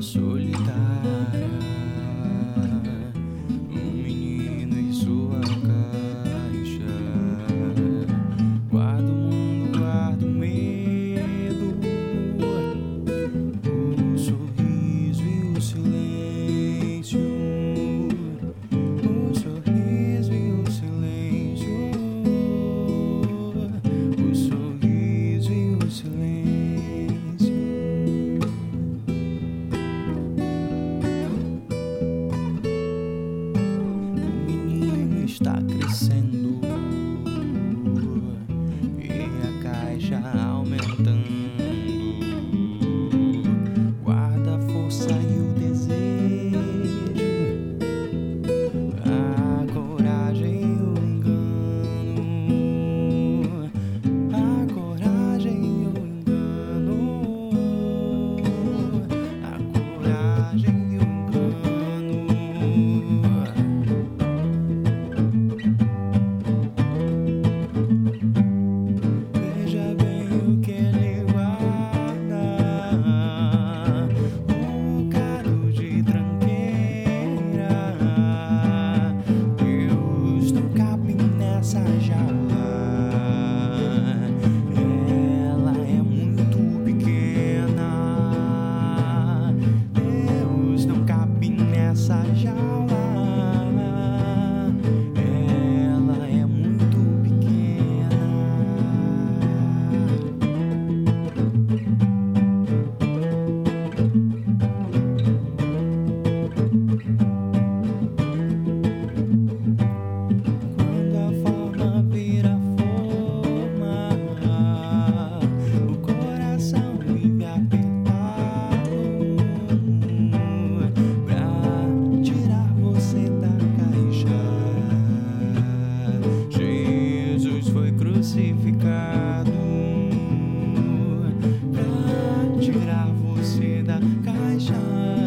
solitária, um menino em sua caixa. Guarda o mundo, guarda o medo, o sorriso e o silêncio, o sorriso e o silêncio, o sorriso e o silêncio. Está crescendo e a caixa aumentando. Guarda a força e o desejo, a coragem e o engano, a coragem e o engano, a coragem e o engano. Essa jaula, ela é muito pequena. Deus não cabe nessa jaula, ela é muito pequena. Vira forma, o coração vive apertado pra tirar você da caixa. Jesus foi crucificado pra tirar você da caixa.